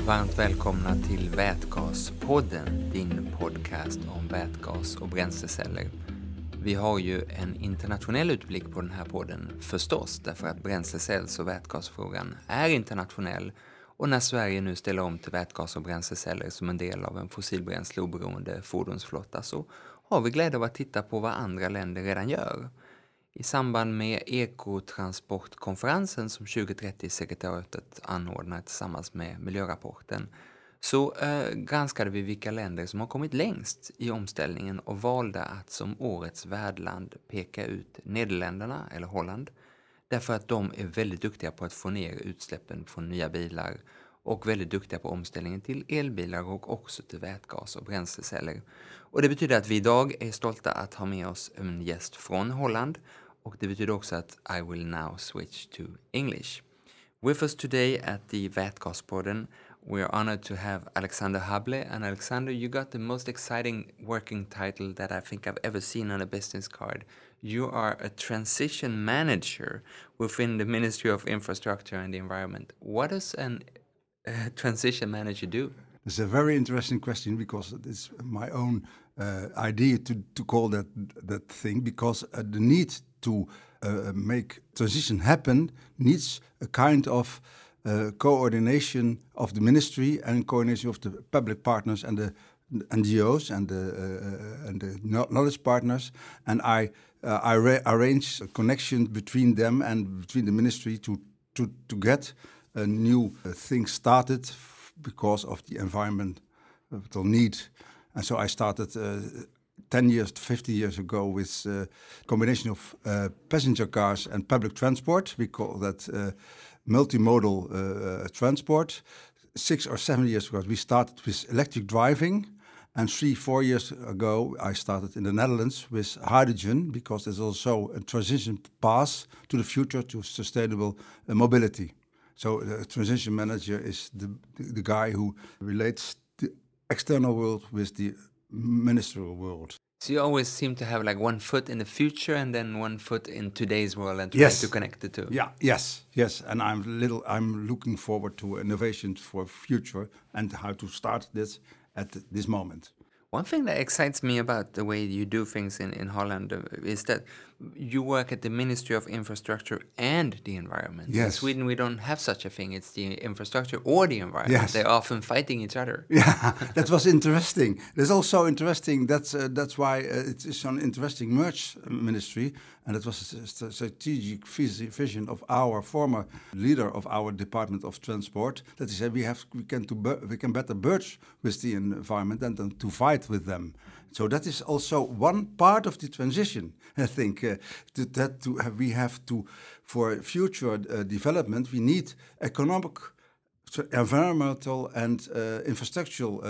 Varmt välkomna till Vätgaspodden, din podcast om vätgas och bränsleceller. Vi har ju en internationell utblick på den här podden förstås, därför att bränslecells- och vätgasfrågan är internationell. Och när Sverige nu ställer om till vätgas och bränsleceller som en del av en fossilbränsleoberoende fordonsflotta, så har vi glädje av att titta på vad andra länder redan gör. I samband med ekotransportkonferensen som 2030-sekretariatet anordnar tillsammans med miljörapporten så granskade vi vilka länder som har kommit längst i omställningen och valde att som årets värdland peka ut Nederländerna eller Holland, därför att de är väldigt duktiga på att få ner utsläppen från nya bilar och väldigt duktiga på omställningen till elbilar och också till vätgas och bränsleceller. Och det betyder att vi idag är stolta att ha med oss en gäst från Holland, och det betyder också att I will now switch to English. With us today at the Vätgaspodden, we are honored to have Alexander Hable. And Alexander, you got the most exciting working title that I think I've ever seen on a business card. You are a transition manager within the Ministry of Infrastructure and the Environment. What does a transition manager do? It's a very interesting question because it's my own idea to call that thing, because the need to make transition happen needs a kind of coordination of the ministry and coordination of the public partners and the NGOs and the knowledge partners, and I arrange a connection between them and between the ministry to get a new thing started because of the environmental need. And so I started 10 years, 50 years ago with a combination of passenger cars and public transport. We call that multimodal transport. 6 or 7 years ago, we started with electric driving. And 3-4 years ago, I started in the Netherlands with hydrogen, because there's also a transition path to the future to sustainable mobility. So the transition manager is the guy who relates the external world with the ministerial world. So you always seem to have like one foot in the future and then one foot in today's world and try to connect the two. Yeah, yes. And I'm looking forward to innovations for future and how to start this at this moment. One thing that excites me about the way you do things in Holland is that you work at the Ministry of Infrastructure and the Environment. Yes. In Sweden, we don't have such a thing. It's the infrastructure or the environment. Yes. They're often fighting each other. Yeah, that was interesting. It's also interesting. That's why it is an interesting merge ministry, and it was a strategic vision of our former leader of our Department of Transport, that he said we can better merge with the environment than to fight with them. So that is also one part of the transition. I think we have to, for future development, we need economic, environmental, and infrastructural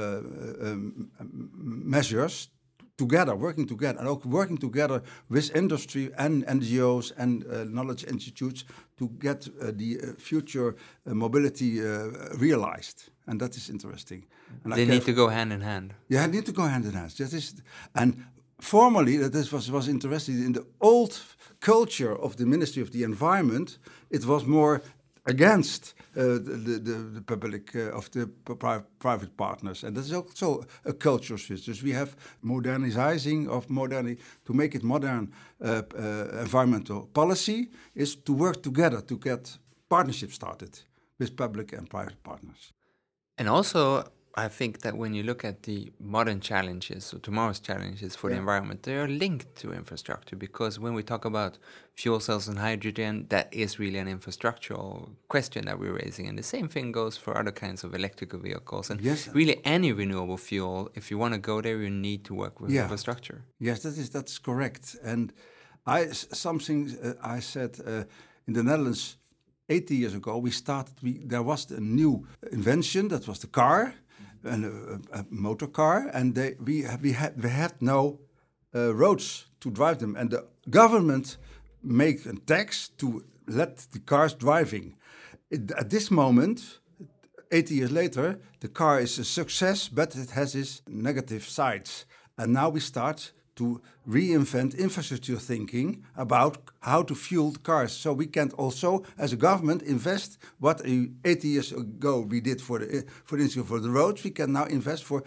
measures together, working together, and also working together with industry and NGOs and knowledge institutes to get the future mobility realized. And that is interesting. And they need to go hand in hand. Yeah, need to go hand in hand. And formally, that was interesting. In the old culture of the Ministry of the Environment, it was more against the public of the private partners, and that's also a cultural switch. So we have modernizing to make it modern. Environmental policy is to work together to get partnerships started with public and private partners. And also, I think that when you look at the modern challenges or tomorrow's challenges for the environment, they are linked to infrastructure, because when we talk about fuel cells and hydrogen, that is really an infrastructural question that we're raising. And the same thing goes for other kinds of electrical vehicles. And really any renewable fuel, if you want to go there, you need to work with infrastructure. Yes, that's correct. And I said in the Netherlands 80 years ago, there was a new invention, that was the car, and a motor car, and we had no roads to drive them, and the government make a tax to let the cars driving. At this moment, 80 years later, the car is a success, but it has its negative sides, and now we start to reinvent infrastructure thinking about how to fuel the cars. So we can also, as a government, invest what 80 years ago we did for instance for the roads. We can now invest for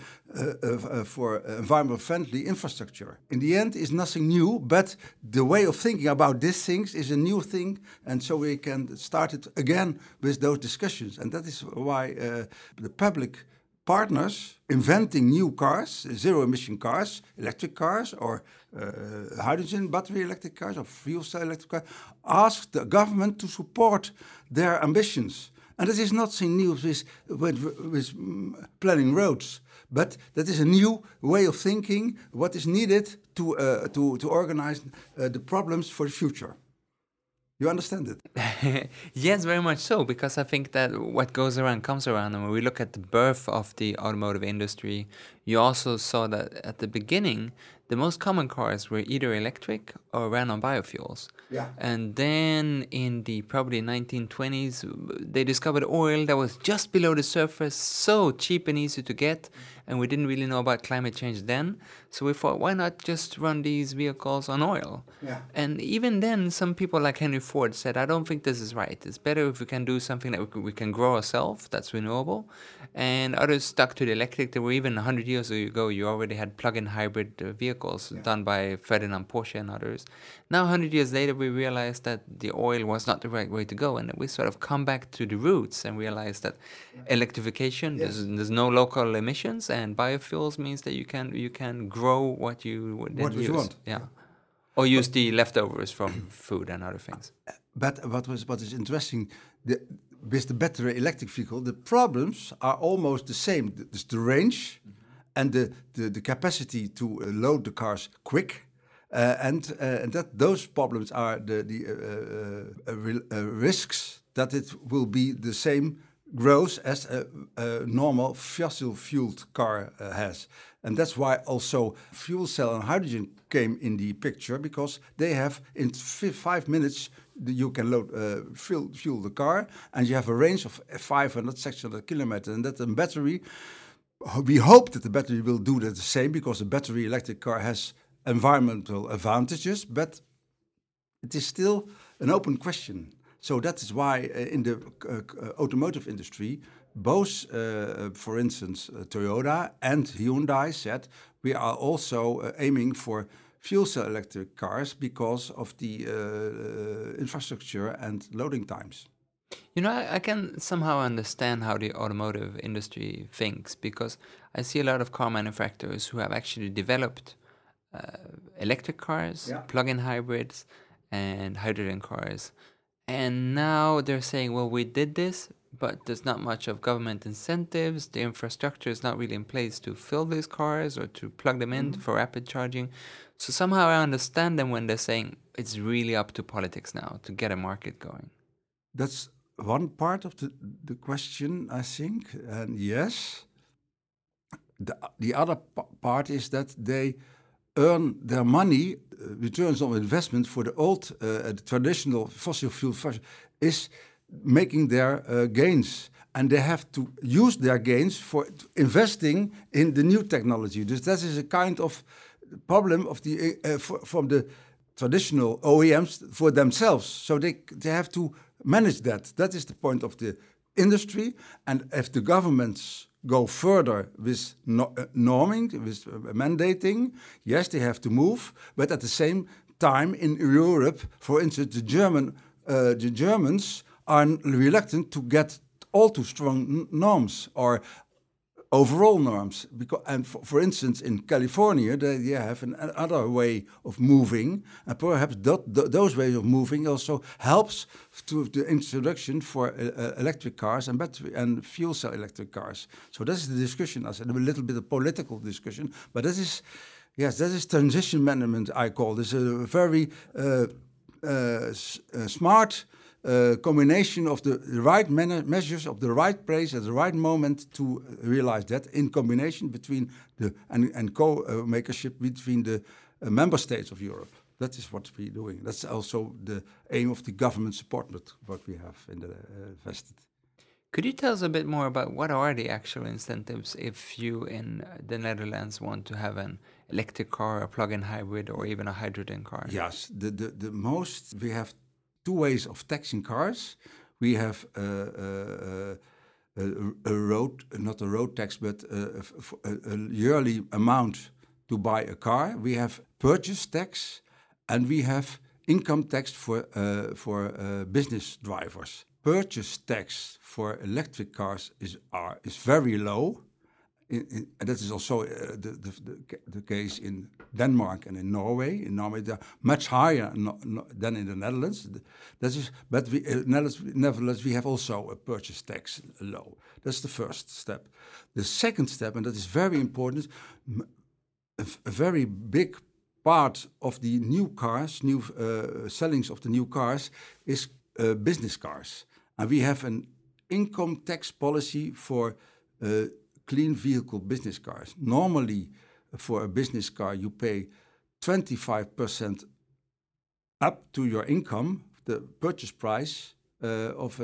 environment-friendly infrastructure. In the end, it's nothing new, but the way of thinking about these things is a new thing, and so we can start it again with those discussions. And that is why the public partners inventing new cars, zero-emission cars, electric cars, or hydrogen battery electric cars, or fuel cell electric cars, ask the government to support their ambitions. And that is not something new with planning roads, but that is a new way of thinking, what is needed to organize the problems for the future. You understand it? Yes, very much so, because I think that what goes around comes around. And when we look at the birth of the automotive industry, you also saw that at the beginning, the most common cars were either electric or ran on biofuels. Yeah. And then in the probably 1920s, they discovered oil that was just below the surface, so cheap and easy to get. And we didn't really know about climate change then. So we thought, why not just run these vehicles on oil? Yeah. And even then, some people like Henry Ford said, I don't think this is right. It's better if we can do something that we can grow ourselves, that's renewable. And others stuck to the electric. There were even 100 years ago, you already had plug-in hybrid vehicles done by Ferdinand Porsche and others. Now, 100 years later, we realized that the oil was not the right way to go. And we sort of come back to the roots and realize that electrification, there's no local emissions, and biofuels means that you can grow what you would then use. You want. Yeah. Or use the leftovers from food and other things. But what is interesting, with the battery electric vehicle, the problems are almost the same. It's the range and the capacity to load the cars quick. And that those problems are the risks that it will be the same growth as a normal fossil-fueled car has. And that's why also fuel cell and hydrogen came in the picture, because they have, in 5 minutes, you can load fuel the car, and you have a range of 500, 600 kilometers. And that the battery, we hope that the battery will do that the same, because the battery electric car has environmental advantages, but it is still an open question. So that is why in the automotive industry, both, for instance, Toyota and Hyundai said, we are also aiming for fuel cell electric cars because of the infrastructure and loading times. You know, I can somehow understand how the automotive industry thinks, because I see a lot of car manufacturers who have actually developed electric cars, plug-in hybrids, and hydrogen cars. And now they're saying, well, we did this, but there's not much of government incentives. The infrastructure is not really in place to fill these cars or to plug them in for rapid charging. So somehow I understand them when they're saying it's really up to politics now to get a market going. That's one part of the question, I think. And yes, the other part is that they earn their money, returns on investment for the old, traditional fossil fuel is making their gains. And they have to use their gains for investing in the new technology. So that is a kind of problem of the from the traditional OEMs for themselves. So they have to manage that. That is the point of the industry. And if the governments go further with norming, with mandating, yes, they have to move. But at the same time, in Europe, for instance, the Germans are reluctant to get all too strong norms or overall norms. And for instance, in California, they have another way of moving, and perhaps those ways of moving also helps to the introduction for electric cars and battery and fuel cell electric cars. So this is the discussion. I said a little bit of political discussion, but that is transition management. I call this a very smart combination of the right measures of the right place at the right moment to realize that, in combination between and co-makership between the member states of Europe. That is what we're doing. That's also the aim of the government support, what we have invested. Could you tell us a bit more about what are the actual incentives if you in the Netherlands want to have an electric car, a plug-in hybrid, or even a hydrogen car? Yes, the most we have two ways of taxing cars. We have a road, not a road tax, but a yearly amount to buy a car. We have purchase tax, and we have income tax for business drivers. Purchase tax for electric cars is very low. And that is also the case in Denmark and in Norway. In Norway, they're much higher than in the Netherlands. But nevertheless, we have also a purchase tax low. That's the first step. The second step, and that is very important, a very big part of the new cars, sellings of the new cars, is business cars. And we have an income tax policy for clean vehicle business cars. Normally, for a business car, you pay 25% up to your income, the purchase price of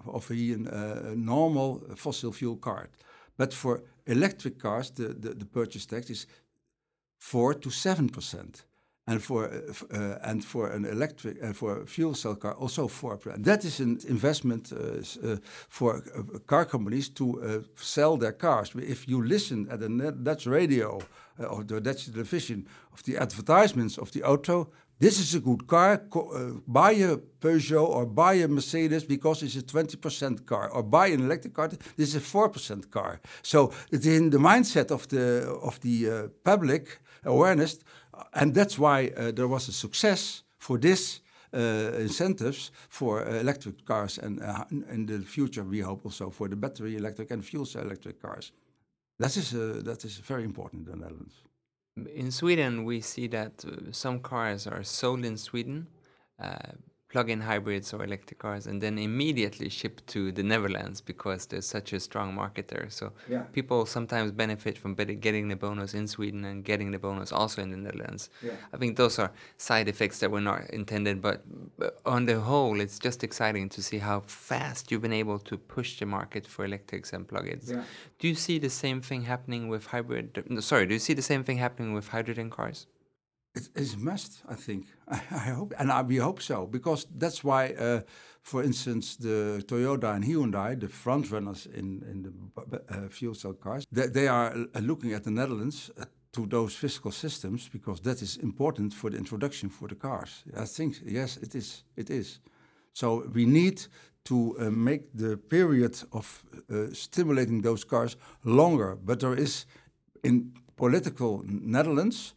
a normal fossil fuel car. But for electric cars, the purchase tax is 4 to 7%. And for an electric for a fuel cell car also 4%. That is an investment for car companies to sell their cars. If you listen at the Dutch radio or the Dutch television of the advertisements of the auto, this is a good car. Buy a Peugeot or buy a Mercedes because it's a 20% car, or buy an electric car. This is a 4% car. So it's in the mindset of the public awareness. And that's why there was a success for this incentives for electric cars, and in the future we hope also for the battery electric and fuel cell electric cars. That is very important in the Netherlands. In Sweden, we see that some cars are sold in Sweden, plug-in hybrids or electric cars, and then immediately shipped to the Netherlands because there's such a strong market there. So people sometimes benefit from getting the bonus in Sweden and getting the bonus also in the Netherlands. Yeah. I think those are side effects that were not intended, but on the whole, it's just exciting to see how fast you've been able to push the market for electrics and plug-ins. Yeah. Do you see the same thing happening with do you see the same thing happening with hydrogen cars? It is a must, I think. I hope, and we hope so, because that's why, for instance, the Toyota and Hyundai, the front runners in the fuel cell cars, they are looking at the Netherlands to those fiscal systems, because that is important for the introduction for the cars. I think, yes, it is. It is. So we need to make the period of stimulating those cars longer. But there is, in political Netherlands,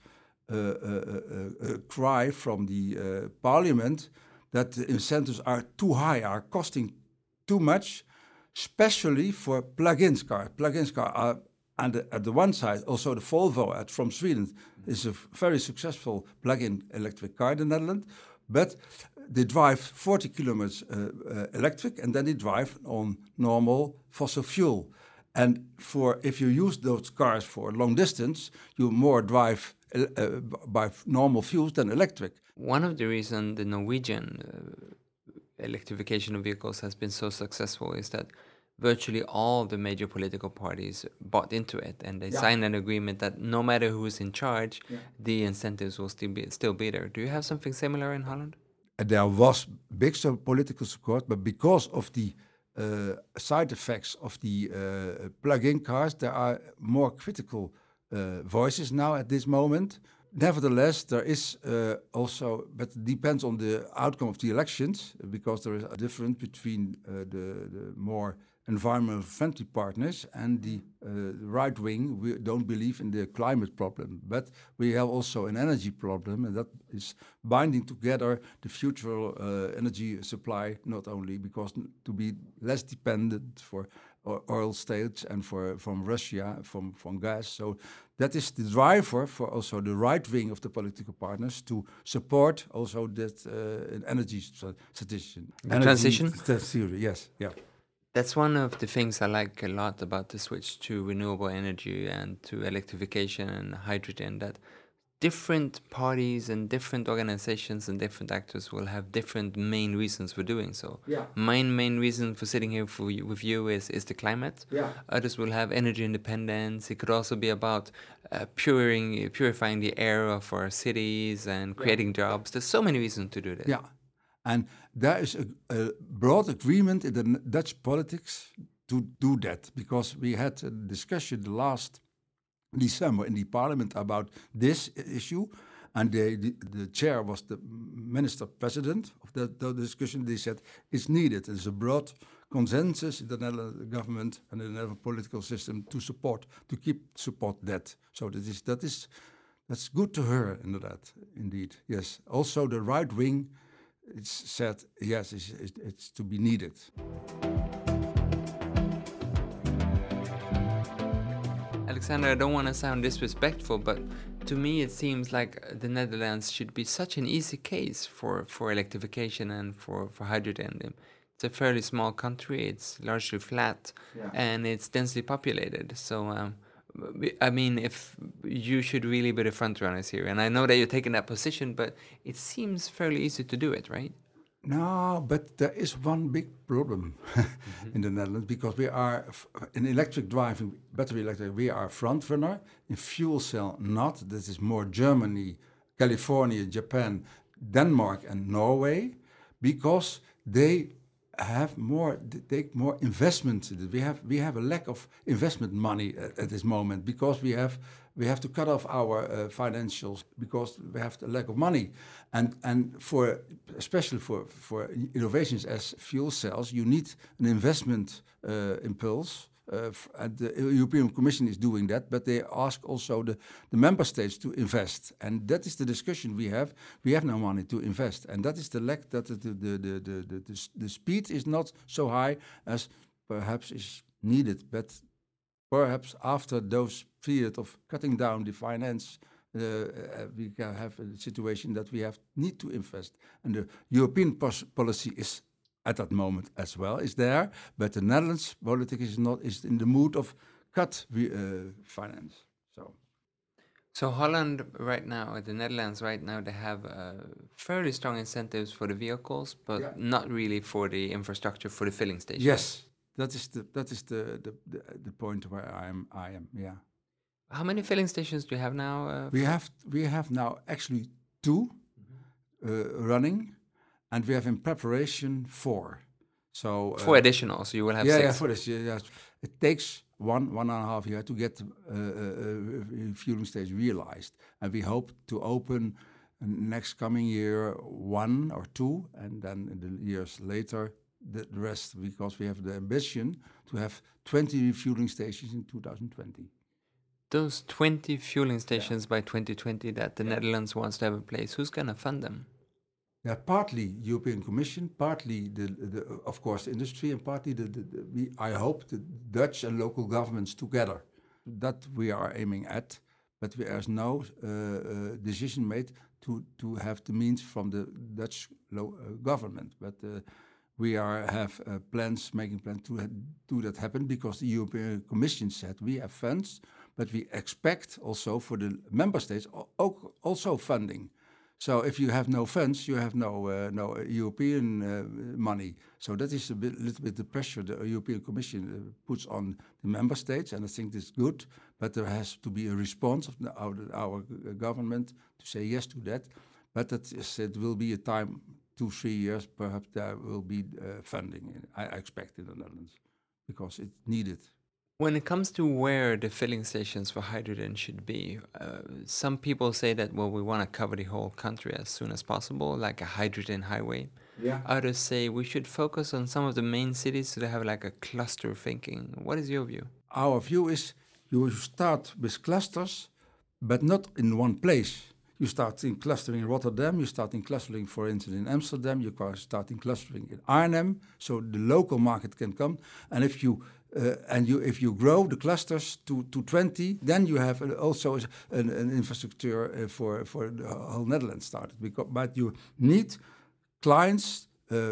a cry from the parliament that the incentives are too high, are costing too much, especially for plug-in cars. Plug-in cars are, and at the one side, also the Volvo from Sweden is a very successful plug-in electric car in the Netherlands, but they drive 40 kilometers electric, and then they drive on normal fossil fuel. And if you use those cars for long distance, you more drive by normal fuels than electric. One of the reasons the Norwegian electrification of vehicles has been so successful is that virtually all the major political parties bought into it, and they signed an agreement that no matter who is in charge, the incentives will still be there. Do you have something similar in Holland? There was big political support, but because of the side effects of the plug-in cars, there are more critical voices now at this moment. Nevertheless, there is also, but it depends on the outcome of the elections, because there is a difference between the more environmental friendly partners and the right wing. We don't believe in the climate problem, but we have also an energy problem, and that is binding together the future energy supply, not only because to be less dependent for oil states and from Russia, from gas. So that is the driver for also the right wing of the political partners to support also that energy transition. Transition? Theory, yes, yeah. That's one of the things I like a lot about the switch to renewable energy and to electrification and hydrogen, that different parties and different organizations and different actors will have different main reasons for doing so. Yeah. My main reason for sitting here with you is the climate. Yeah. Others will have energy independence. It could also be about purifying the air of our cities and creating jobs. There's so many reasons to do this. Yeah, and there is a broad agreement in the Dutch politics to do that, because we had a discussion last December in the parliament about this issue, and the chair was the minister president of the discussion. They said it's needed. There's a broad consensus in the Netherlands government and the Netherlands political system to support that. So that's good to hear, indeed. Yes. Also, the right wing, it's said yes, it's to be needed. Alexander, I don't want to sound disrespectful, but to me it seems like the Netherlands should be such an easy case for electrification and for hydrogen. It's a fairly small country, it's largely flat, and it's densely populated. So, I mean, if you should really be the front runners here, and I know that you're taking that position, but it seems fairly easy to do it, right? No, but there is one big problem in the Netherlands, because we are, in electric driving, battery electric, we are front runner. In fuel cell, not. This is more Germany, California, Japan, Denmark and Norway, because they take more investment. We have a lack of investment money at this moment, because we have to cut off our financials, because we have the lack of money, and especially for innovations as fuel cells, you need an investment impulse. And the European Commission is doing that, but they ask also the member states to invest, and that is the discussion we have. We have no money to invest, and that is the lack. That the speed is not so high as perhaps is needed. But perhaps after those period of cutting down the finance, we can have a situation that we need to invest, and the European policy is, at that moment as well, is there, but the Netherlands politics is in the mood of cut finance. So Holland right now, the Netherlands right now, they have fairly strong incentives for the vehicles, but not really for the infrastructure for the filling stations. Yes, that is the point where I am. Yeah. How many filling stations do you have now? We have now actually 2 running. And we have in preparation 4. So 4 additional, so you will have 6. Yeah, for this. Yeah. It takes 1.5 years to get fueling station realized, and we hope to open next coming year 1 or 2, and then in the years later the rest, because we have the ambition to have 20 refueling stations in 2020. Those 20 fueling stations by 2020 that the Netherlands wants to have in place, who's going to fund them? Yeah, partly European Commission, partly of course the industry, and partly I hope the Dutch and local governments together. That we are aiming at, but there's no decision made to have the means from the Dutch government. But we have making plans to do that happen, because the European Commission said we have funds, but we expect also for the member states also funding. So if you have no funds, you have no European money. So that is little bit the pressure the European Commission puts on the member states, and I think that's good. But there has to be a response of our government to say yes to that. But it will be a time, 2-3 years, perhaps there will be funding. I expect in the Netherlands, because it's needed. When it comes to where the filling stations for hydrogen should be, some people say that, well, we want to cover the whole country as soon as possible, like a hydrogen highway. Yeah. Others say we should focus on some of the main cities so they have like a cluster thinking. What is your view? Our view is you start with clusters, but not in one place. You start in clustering in Rotterdam, you start in clustering, for instance, in Amsterdam, you start in clustering in Arnhem, so the local market can come. And if you grow the clusters to 20, then you have also an infrastructure for the whole Netherlands started. But you need clients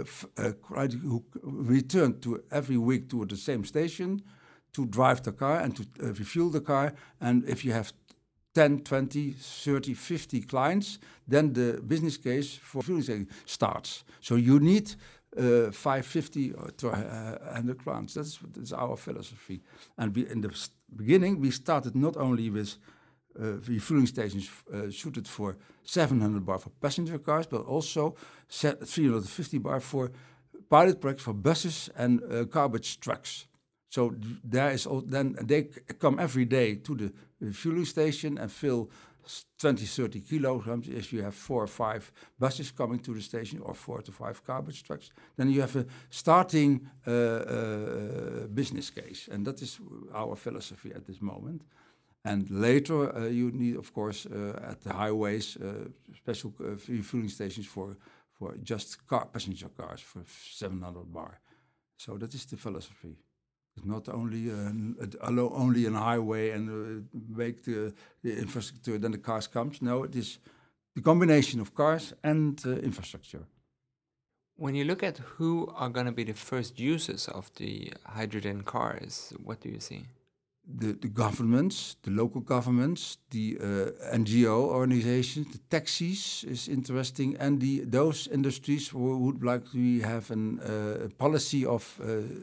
who return to every week to the same station to drive the car and to refuel the car. And if you have 10, 20, 30, 50 clients, then the business case for fueling station starts. So you need 550 or 100 clients. That's our philosophy. And in the beginning, we started not only with refueling stations suited for 700 bar for passenger cars, but also 350 bar for pilot projects for buses and garbage trucks. So there is then they come every day to the refueling station and fill 20, 30 kilograms. If you have 4 or 5 buses coming to the station or 4 to 5 garbage trucks, then you have a starting business case. And that is our philosophy at this moment. And later you need, of course, at the highways, special refueling stations for just passenger cars for 700 bar. So that is the philosophy. It's not only only an highway and make the infrastructure, then the cars comes. No, it is the combination of cars and infrastructure. When you look at who are going to be the first users of the hydrogen cars, what do you see? The governments, the local governments, the NGO organizations, the taxis is interesting, and those industries who would like to have a policy of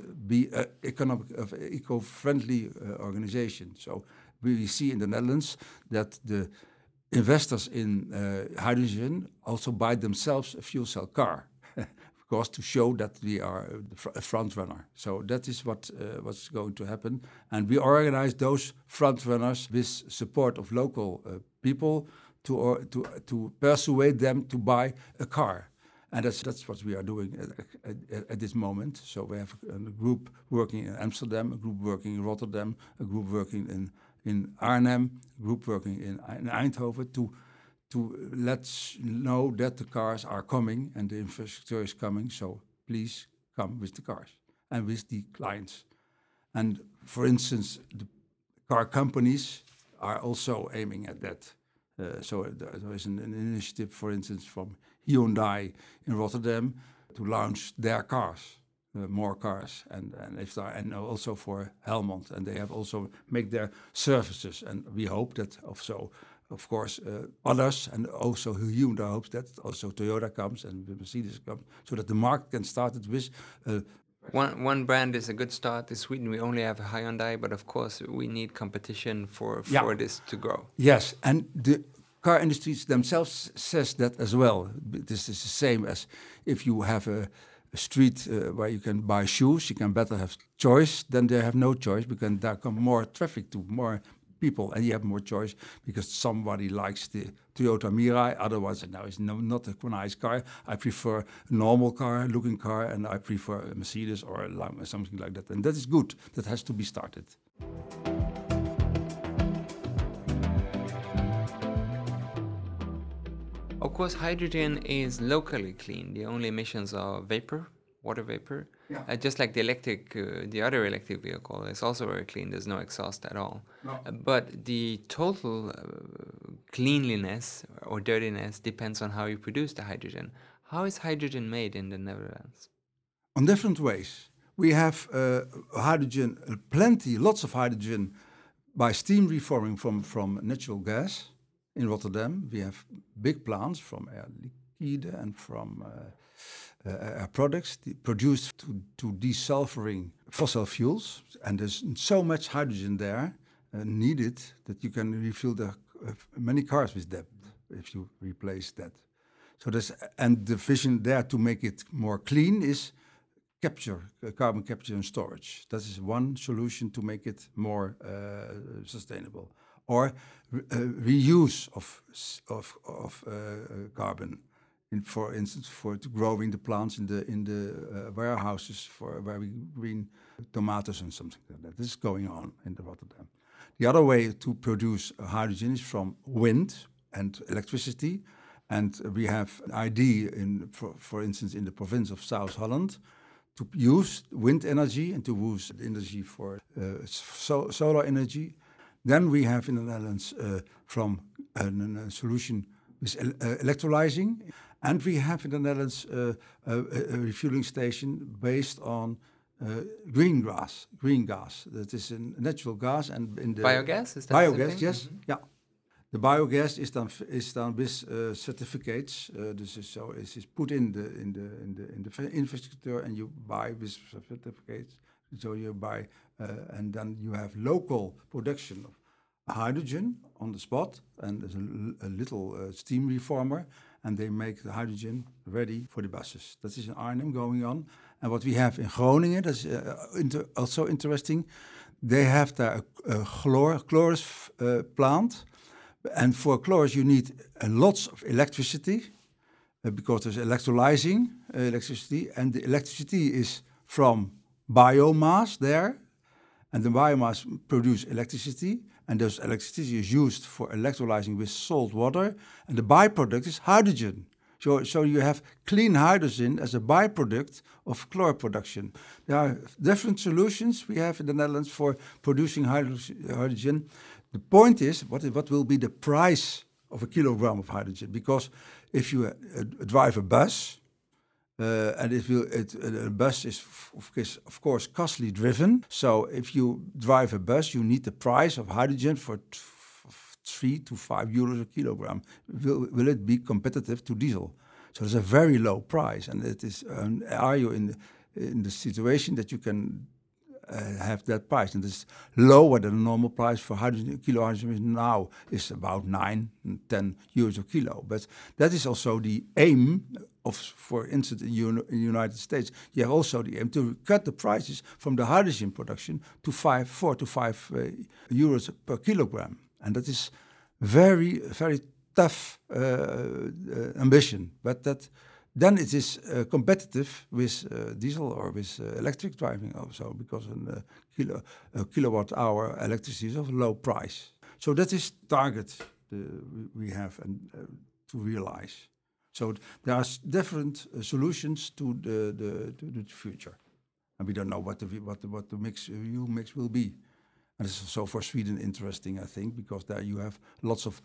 eco-friendly organization. So we see in the Netherlands that the investors in hydrogen also buy themselves a fuel cell car. To show that we are a front runner. So that is what's going to happen. And we organize those front runners with support of local people to persuade them to buy a car. And that's what we are doing at this moment. So we have a group working in Amsterdam, a group working in Rotterdam, a group working in Arnhem, a group working in Eindhoven to let know that the cars are coming and the infrastructure is coming. So please come with the cars and with the clients. And for instance, the car companies are also aiming at that. So there is an initiative, for instance, from Hyundai in Rotterdam to launch their cars, more cars, and also for Helmond. And they have also make their services. And we hope that also, of course, others, and also Hyundai hopes that also Toyota comes and Mercedes comes, so that the market can start it with. One brand is a good start. In Sweden, we only have Hyundai, but of course, we need competition for this to grow. Yes, and the car industries themselves says that as well. This is the same as if you have a street where you can buy shoes, you can better have choice than they have no choice, because there come more traffic to more people, and you have more choice because somebody likes the Toyota Mirai. Otherwise, now it's not a nice car. I prefer a normal looking car, and I prefer a Mercedes or something like that. And that is good. That has to be started. Of course, hydrogen is locally clean. The only emissions are vapor, water vapor. Yeah. Just like the other electric vehicle is also very clean. There's no exhaust at all. No. But the total cleanliness or dirtiness depends on how you produce the hydrogen. How is hydrogen made in the Netherlands? On different ways. We have hydrogen, lots of hydrogen by steam reforming from natural gas. In Rotterdam, we have big plants from Air Liquide and from products produced to desulfuring fossil fuels, and there's so much hydrogen there needed that you can refuel many cars with that if you replace that. So and the vision there to make it more clean is carbon capture and storage. That is one solution to make it more sustainable, or reuse of carbon. For instance, for growing the plants in the warehouses where we green tomatoes and something like that. This is going on in Rotterdam. The other way to produce hydrogen is from wind and electricity, and we have an idea for instance, in the province of South Holland, to use wind energy and to use energy for solar energy. Then we have in the Netherlands from a solution with electrolyzing. And we have in the Netherlands a refueling station based on green gas. That is a natural gas, and in the biogas. Is that biogas? Yes, yeah. The biogas is done with certificates. This is put in the infrastructure, and you buy with certificates. So you buy, and then you have local production of hydrogen on the spot, and there's a little steam reformer, and they make the hydrogen ready for the buses. That is in Arnhem going on. And what we have in Groningen, that's also interesting. They have there a Chloris plant. And for Chloris, you need lots of electricity because there's electrolyzing electricity. And the electricity is from biomass there. And the biomass produces electricity. And those electricity is used for electrolyzing with salt water. And the byproduct is hydrogen. So you have clean hydrogen as a byproduct of chlor production. There are different solutions we have in the Netherlands for producing hydrogen. The point is, what will be the price of a kilogram of hydrogen? Because if you drive a bus, and a bus is of course costly driven. So if you drive a bus, you need the price of hydrogen for 3 to 5 euros a kilogram. Will it be competitive to diesel? So it's a very low price, and it is. Are you in the situation that you can have that price? And it's lower than the normal price for hydrogen. Kilo hydrogen now is about 9 and 10 euros a kilo. But that is also the aim of, for instance, in the United States. You have also the aim to cut the prices from the hydrogen production to 4 to 5 euros per kilogram. And that is very, very tough ambition. But then it is competitive with diesel or with electric driving also, because a kilowatt hour electricity is of low price. So that is target we have to realize. So there are different solutions to the future, and we don't know what the mix will be. And this is also for Sweden interesting, I think, because there you have lots of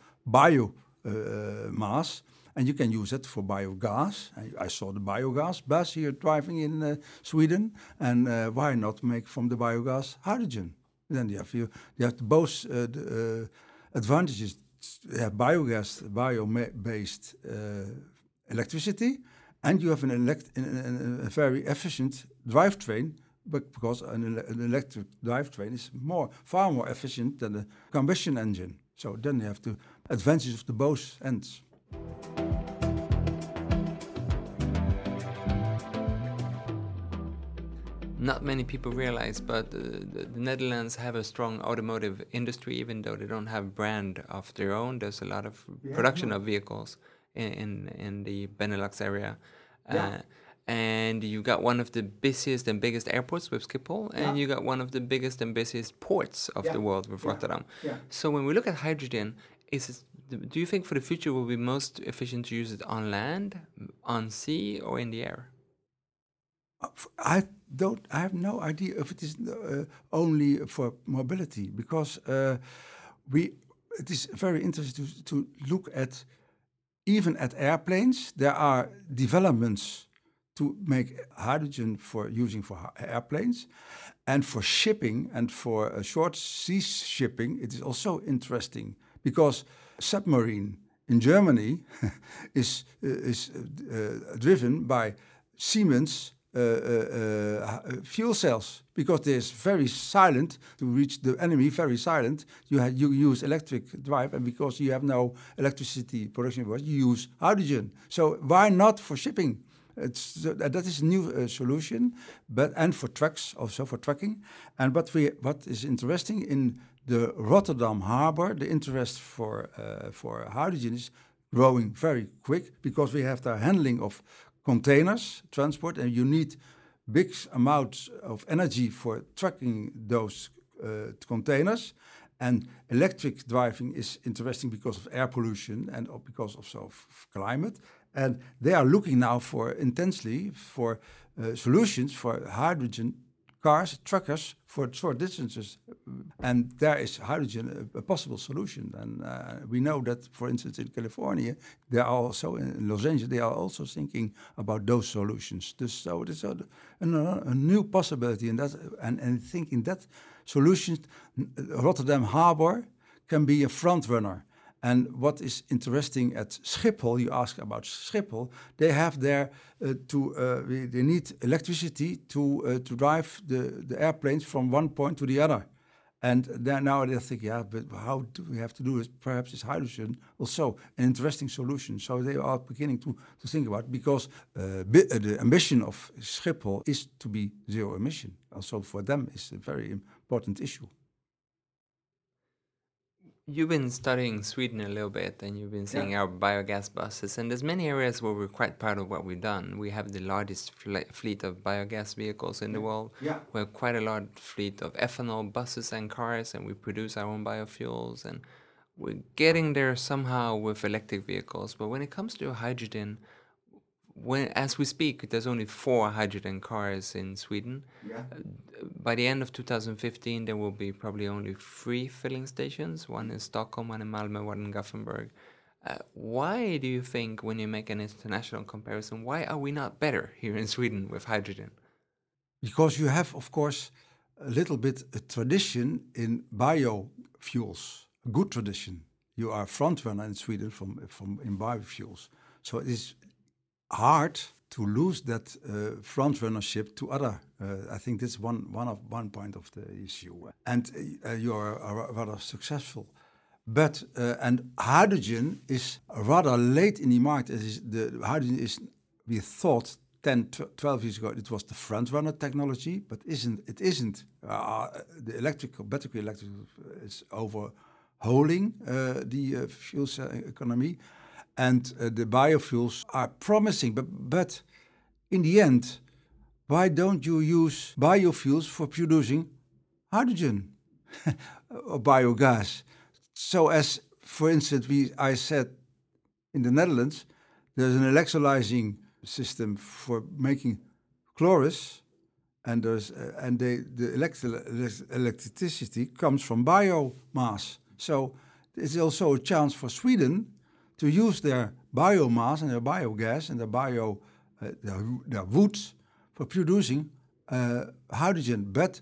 mass, and you can use it for biogas. I saw the biogas bus here driving in Sweden, and why not make from the biogas hydrogen? Then you have both the advantages. You have bio-based electricity, and you have a very efficient drivetrain, because an electric drivetrain is far more efficient than a combustion engine. So then you have the advantages of the both ends. Not many people realize, but the Netherlands have a strong automotive industry, even though they don't have brand of their own. There's a lot of production of vehicles in the Benelux area. And you got one of the busiest and biggest airports with Schiphol, and you got one of the biggest and busiest ports of the world with Rotterdam. So when we look at hydrogen, do you think for the future will be most efficient to use it on land, on sea, or in the air? I have no idea if it is only for mobility, because it is very interesting to look at, even at airplanes. There are developments to make hydrogen for airplanes, and for shipping and for short sea shipping. It is also interesting, because submarine in Germany is driven by Siemens fuel cells, because there's very silent to reach the enemy. Very silent. You use electric drive, and because you have no electricity production, you use hydrogen. So why not for shipping? That is a new solution, and for trucks, also for trucking. And what is interesting in the Rotterdam harbor, the interest for hydrogen is growing very quick, because we have the handling of containers, transport, and you need big amounts of energy for trucking those containers. And electric driving is interesting because of air pollution and because of climate. And they are looking now intensely for solutions for hydrogen cars, truckers for short distances. And there is hydrogen a possible solution. And we know that, for instance, in California, they are also in Los Angeles, they are also thinking about those solutions. So it's a new possibility in that, and thinking that solutions, Rotterdam Harbor can be a front runner. And what is interesting at Schiphol, you ask about Schiphol, they have there they need electricity to drive the airplanes from one point to the other. And now they think, but how do we have to do it? Perhaps it's hydrogen also an interesting solution. So they are beginning to think about it, because the ambition of Schiphol is to be zero emission. Also for them, it's a very important issue. You've been studying Sweden a little bit, and you've been seeing our biogas buses, and there's many areas where we're quite proud of what we've done. We have the largest fleet of biogas vehicles in the world. Yeah. We have quite a large fleet of ethanol buses and cars, and we produce our own biofuels, and we're getting there somehow with electric vehicles. But when it comes to hydrogen, as we speak, there's only 4 hydrogen cars in Sweden. Yeah. By the end of 2015, there will be probably only 3 filling stations, one in Stockholm, one in Malmö, one in Gothenburg. Why do you think, when you make an international comparison, why are we not better here in Sweden with hydrogen? Because you have, of course, a little bit a tradition in biofuels, a good tradition. You are a front runner in Sweden in biofuels. So it is hard to lose that front runnership to other. I think this is one point of the issue. And you are rather successful. But and hydrogen is rather late in the market. Hydrogen is, we thought 10, 12 years ago, it was the front runner technology, but it isn't. The battery electric is overhauling the fuel cell economy. And the biofuels are promising, but in the end, why don't you use biofuels for producing hydrogen or biogas? So as, for instance, I said in the Netherlands, there's an electrolyzing system for making chloris, and the electricity comes from biomass. So it's also a chance for Sweden to use their biomass and their biogas and their woods for producing hydrogen. But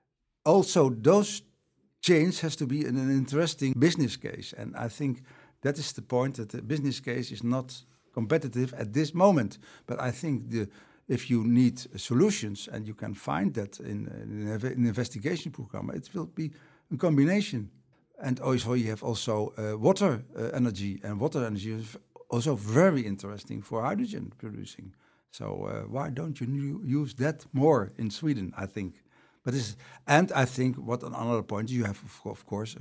also those chains has to be an interesting business case. And I think that is the point, that the business case is not competitive at this moment. But I think if you need solutions, and you can find that in an investigation program, it will be a combination. And also you have also water energy, and water energy is also very interesting for hydrogen producing. So why don't you use that more in Sweden, I think. And I think another point, you have, of course,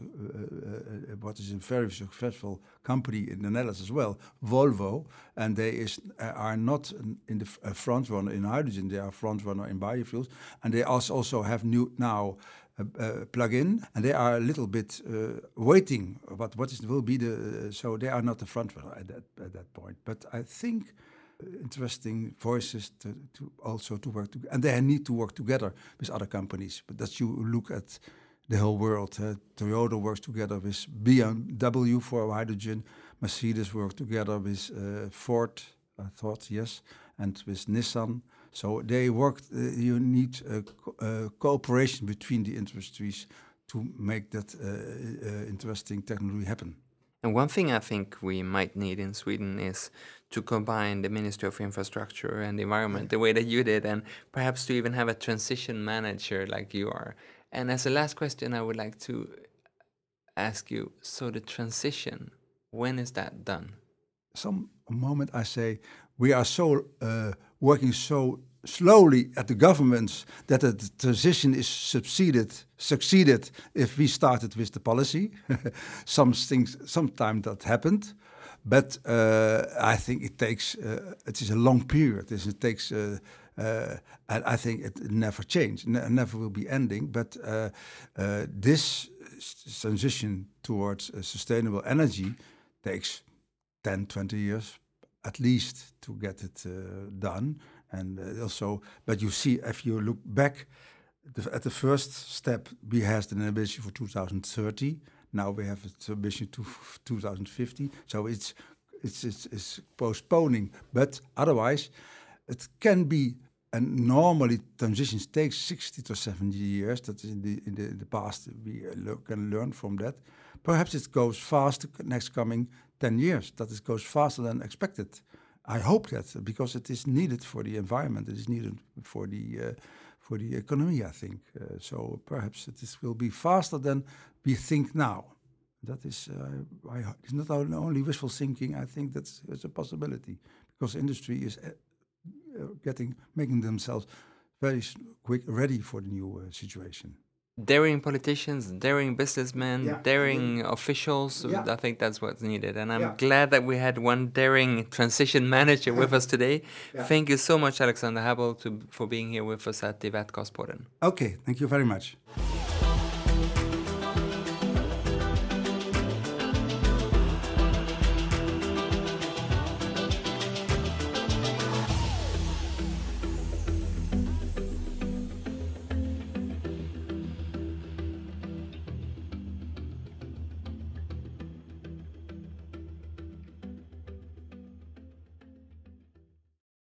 what is a very successful company in the Netherlands as well, Volvo, and they are not in the front runner in hydrogen, they are front runner in biofuels, and they also have now plug-in, and they are a little bit waiting. Will be so they are not the front runner at that point. But I think interesting voices to work together, and they need to work together with other companies. But that you look at the whole world, Toyota works together with BMW for hydrogen, Mercedes works together with Ford, I thought, yes, and with Nissan. So they work. You need cooperation between the industries to make that interesting technology happen. And one thing I think we might need in Sweden is to combine the Ministry of Infrastructure and the Environment the way that you did, and perhaps to even have a transition manager like you are. And as a last question, I would like to ask you, so the transition, when is that done? Some moment I say, we are so working so slowly at the governments that the transition is succeeded if we started with the policy. Sometimes that happened, but I think it takes. It is a long period. It takes. And I think it never changes. Never will be ending. But this transition towards sustainable energy takes 10, 20 years at least to get it done. And also, but you see, if you look back at the first step, we had an ambition for 2030. Now we have an ambition to 2050. So it's postponing. But otherwise, it can be. And normally transitions take 60 to 70 years. That is in the past we can learn from that. Perhaps it goes fast next coming 10 years, that it goes faster than expected. I hope that, because it is needed for the environment, it is needed for the economy, I think. So perhaps will be faster than we think now. That is, it's not only wishful thinking. I think that's a possibility, because industry is making themselves very quick ready for the new situation. Daring politicians, daring businessmen, daring officials. Yeah. I think that's what's needed. And I'm glad that we had one daring transition manager with us today. Thank you so much, Alexander Habel, for being here with us at the Vätgaspodden. Okay, thank you very much.